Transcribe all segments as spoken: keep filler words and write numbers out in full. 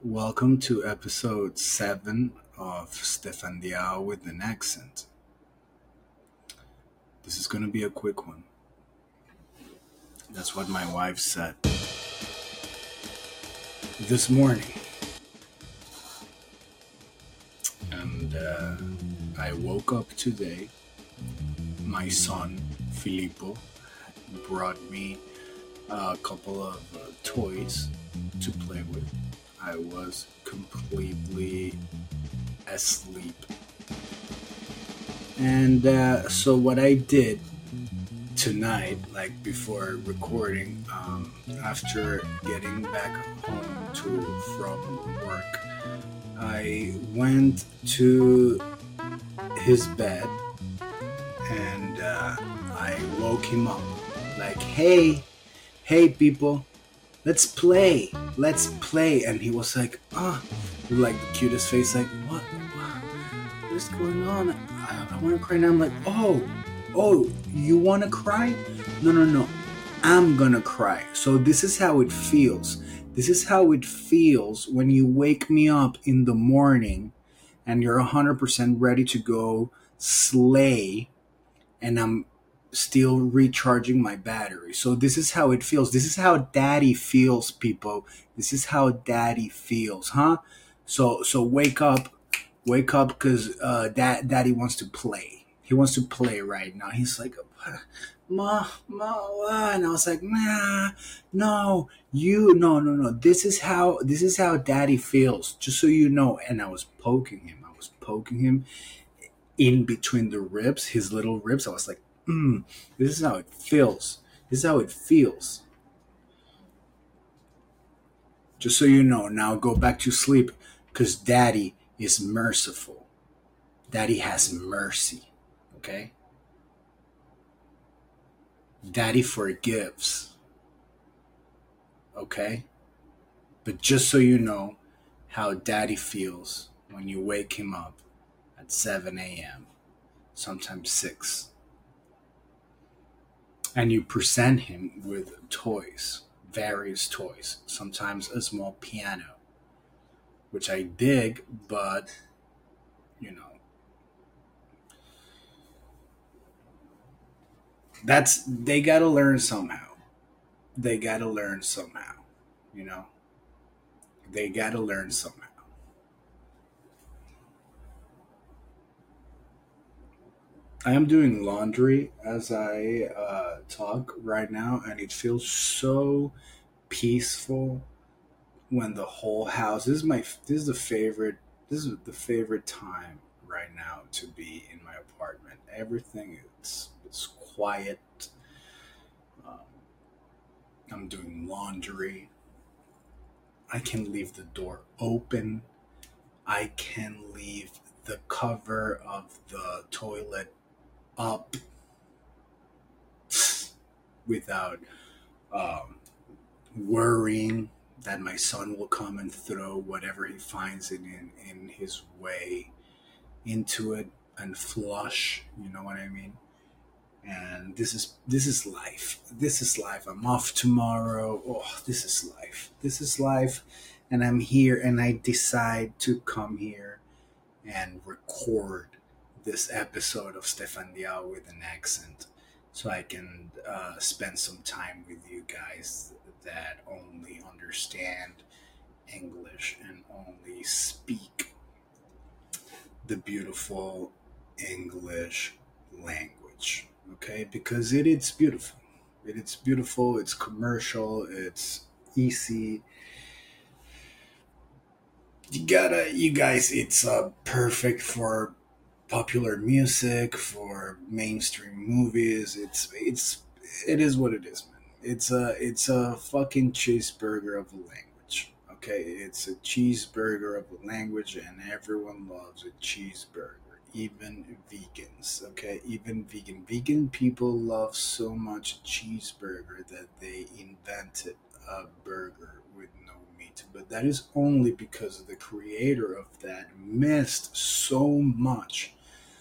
Welcome to episode seven of Stefan Diao with an accent. This is going to be a quick one. That's what my wife said this morning. And uh, I woke up today. My son, Filippo, brought me a couple of uh, toys to play with. I was completely asleep. And uh, so, what I did tonight, like before recording, um, after getting back home to from work, I went to his bed and uh, I woke him up. Like, hey, hey, people, let's play, let's play. And he was like, ah, with like the cutest face, like, what, what, what's going on? I, I want to cry now. I'm like, oh, oh, you want to cry? No, no, no, I'm gonna cry. So this is how it feels. This is how it feels when you wake me up in the morning and you're one hundred percent ready to go slay, and I'm still recharging my battery. So this is how it feels. This is how daddy feels, people. This is how daddy feels, huh? So so wake up, wake up, because uh, dad daddy wants to play. He wants to play right now. He's like, ma, ma, and I was like, nah, no, you, no, no, no. This is how this is how daddy feels. Just so you know. And I was poking him. I was poking him in between the ribs, his little ribs. I was like, mm, this is how it feels. This is how it feels. Just so you know, now go back to sleep because daddy is merciful. Daddy has mercy. Okay? Daddy forgives. Okay? But just so you know how daddy feels when you wake him up at seven a.m., sometimes six, and you present him with toys, various toys, sometimes a small piano, which I dig, but you know, that's they gotta learn somehow. They gotta learn somehow, you know. They gotta learn somehow. I am doing laundry as I uh, talk right now, and it feels so peaceful when the whole house. This is my. This is the favorite. This is the favorite time right now to be in my apartment. Everything is is quiet. Um, I'm doing laundry. I can leave the door open. I can leave the cover of the toilet up without um, worrying that my son will come and throw whatever he finds in, in in his way into it and flush. You know what I mean? And this is this is life. This is life. I'm off tomorrow. Oh, this is life. This is life, and I'm here, and I decide to come here and record this episode of Stefan Diao with an accent, so I can uh, spend some time with you guys that only understand English and only speak the beautiful English language. Okay, because it is beautiful. It is beautiful. It's commercial. It's easy. You gotta, you guys. It's uh, perfect for popular music, for mainstream movies. It's it's it is what it is, man. It's a it's a fucking cheeseburger of a language. Okay, it's a cheeseburger of a language, and everyone loves a cheeseburger. Even vegans, okay, even vegan vegan people love so much cheeseburger that they invented a burger with no meat. But that is only because the creator of that missed so much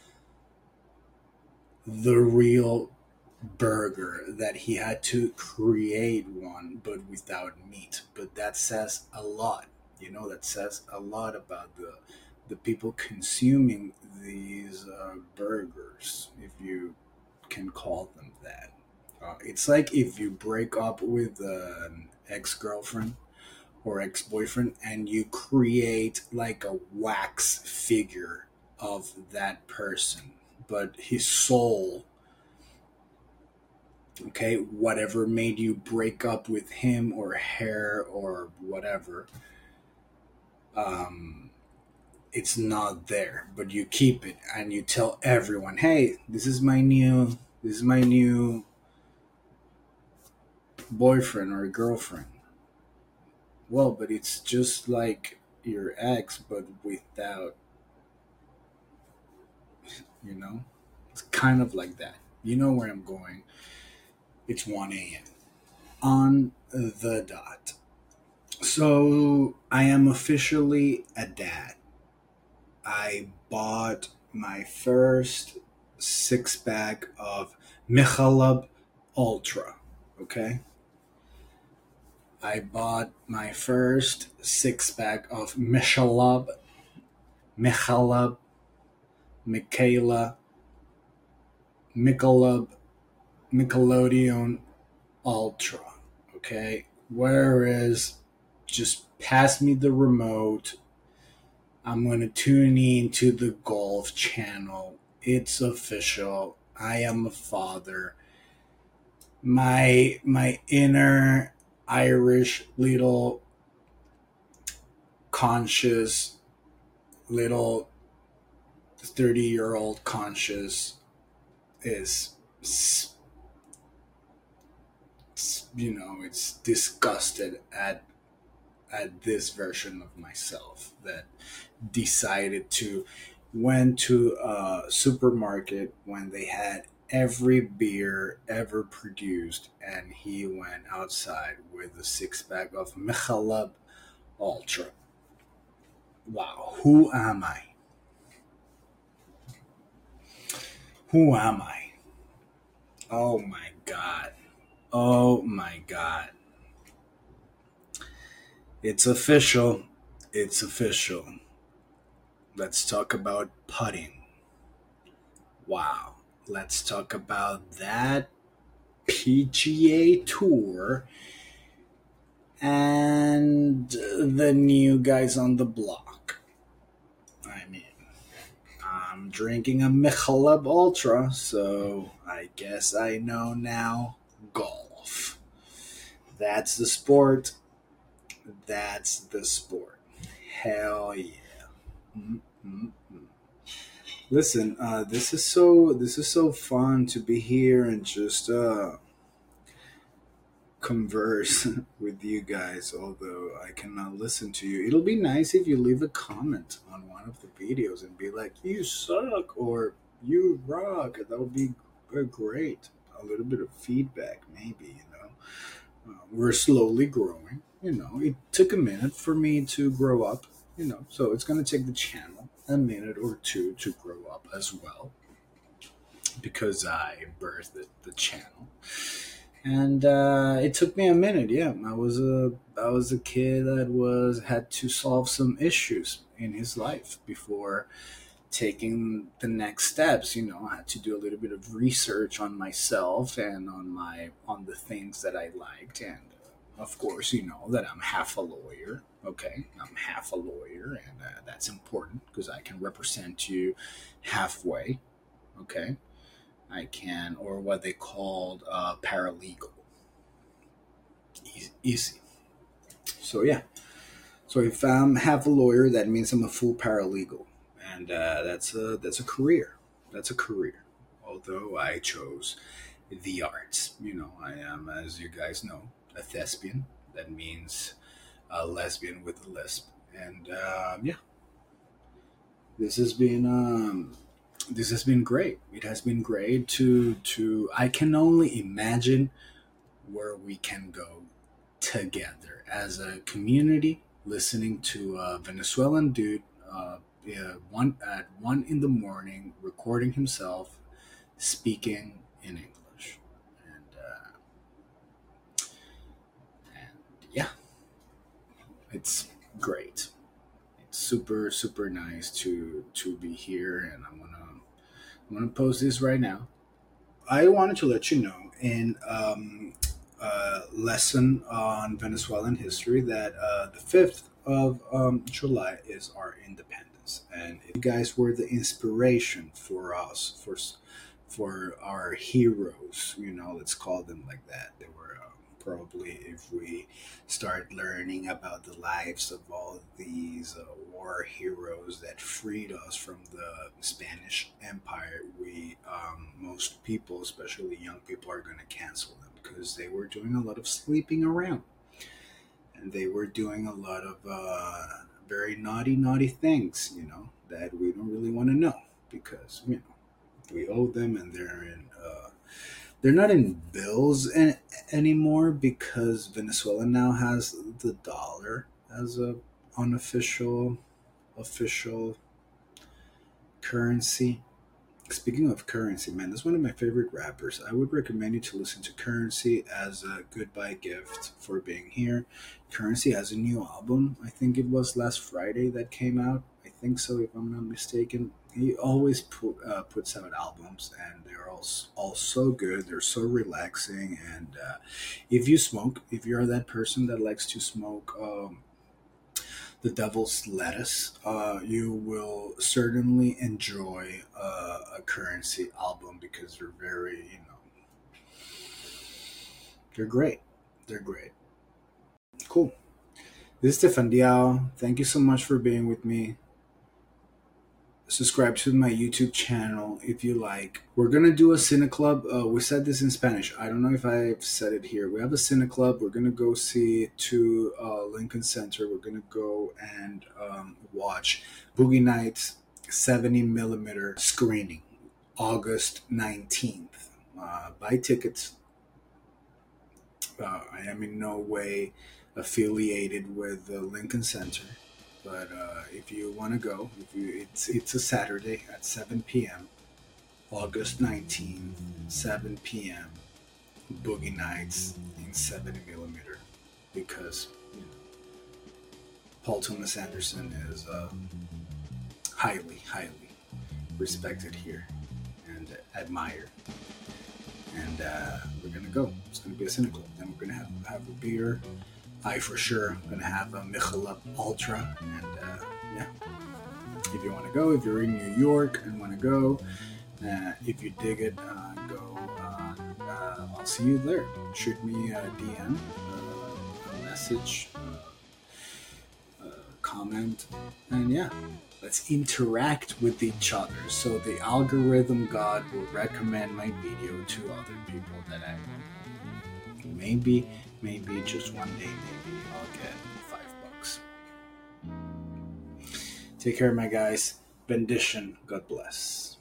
the real burger that he had to create one but without meat. But that says a lot. You know, that says a lot about the the people consuming these uh, burgers, if you can call them that. Uh, it's like if you break up with an ex girlfriend or ex boyfriend and you create like a wax figure of that person, but his soul, okay, whatever made you break up with him or her or whatever, um, it's not there, but you keep it and you tell everyone, hey, this is my new, this is my new boyfriend or girlfriend. Well, but it's just like your ex, but without, you know? It's kind of like that. You know where I'm going. It's one a m on the dot. So I am officially a dad. I bought my first six pack of Michelob Ultra. Okay? I bought my first six pack of Michelob, Michelob, Michaela, Michelob, Nickelodeon Ultra. Okay? Whereas, just pass me the remote. I'm going to tune in to the Golf Channel. It's official. I am a father. My my inner Irish little conscious little thirty year old conscious is, you know, it's disgusted at at this version of myself that decided to went to a supermarket when they had every beer ever produced, and he went outside with a six pack of Michelob Ultra. Wow, who am I? Who am I? Oh my god. Oh my god. It's official. It's official. Let's talk about putting. Wow. Let's talk about that P G A Tour and the new guys on the block. I mean, I'm drinking a Michelob Ultra, so I guess I know now golf. That's the sport. That's the sport. Hell yeah. Mm-mm-mm. Listen, uh, this is so this is so fun to be here and just uh, converse with you guys. Although I cannot listen to you, it'll be nice if you leave a comment on one of the videos and be like, "You suck" or "You rock." That would be uh, great. A little bit of feedback, maybe. You know, uh, we're slowly growing. You know, it took a minute for me to grow up. You know, so it's gonna take the channel a minute or two to grow up as well because I birthed the, the channel. And uh, it took me a minute. Yeah, I was a I was a kid that was had to solve some issues in his life before taking the next steps. You know, I had to do a little bit of research on myself and on my on the things that I liked, and uh, of course, you know that I'm half a lawyer. Okay, I'm half a lawyer, and uh, that's important because I can represent you halfway. Okay, I can, or what they called uh, paralegal. Easy, easy. So yeah. So if I'm half a lawyer, that means I'm a full paralegal, and uh, that's a that's a career. That's a career. Although I chose the arts, you know, I am, as you guys know, a thespian. That means a lesbian with a lisp, and um, yeah, this has been um, this has been great. It has been great to to. I can only imagine where we can go together as a community, listening to a Venezuelan dude, uh, yeah, one at one in the morning, recording himself speaking in English, and uh, and yeah, it's great. It's super super nice to to be here, and I'm gonna I'm gonna post this right now. I wanted to let you know in um, a lesson on Venezuelan history that uh, the fifth of um, July is our independence. And if you guys were the inspiration for us, for, s- for our heroes, you know, let's call them like that. They were uh, probably, if we start learning about the lives of all these uh, war heroes that freed us from the Spanish Empire, we um, most people, especially young people, are going to cancel them because they were doing a lot of sleeping around and they were doing a lot of uh, very naughty, naughty things, you know, that we don't really want to know because you know we owe them and they're in. Uh, they're not in bills an anymore because Venezuela now has the dollar as a unofficial official currency. Speaking of Currency, man, that's one of my favorite rappers. I would recommend you to listen to Currency as a goodbye gift for being here. Currency has a new album. I think it was last Friday that came out. I think so, if I'm not mistaken. He always put, uh, puts out albums, and they're all, s- all so good. They're so relaxing. And uh, if you smoke, if you're that person that likes to smoke um, the Devil's Lettuce, uh, you will certainly enjoy uh, a Currency album because they're very, you know, they're great. They're great. Cool. This is Stefan Diao. Thank you so much for being with me. Subscribe to my YouTube channel if you like. We're gonna do a Cine Club. Uh, we said this in Spanish. I don't know if I've said it here. We have a Cine Club. We're gonna go see to uh, Lincoln Center. We're gonna go and um, watch Boogie Nights seventy millimeter screening, August nineteenth. Uh, buy tickets. Uh, I am in no way affiliated with the Lincoln Center, but uh, if you want to go, if you, it's it's a Saturday at seven p m. August nineteenth, seven p m. Boogie Nights in seventy millimeter, because you know, Paul Thomas Anderson is uh, highly, highly respected here and admired. And uh, we're gonna go. It's gonna be a cynical. Then we're gonna have have a beer. I for sure gonna have a Michelob Ultra, and uh, yeah. If you want to go, if you're in New York and want to go, uh, if you dig it, uh, go. Uh, uh, I'll see you there. Shoot me a D M, uh, a message, uh, uh, comment, and yeah, let's interact with each other. So the algorithm god will recommend my video to other people that I maybe, maybe just one day, maybe I'll get five bucks. Take care, my guys. Bendition. God bless.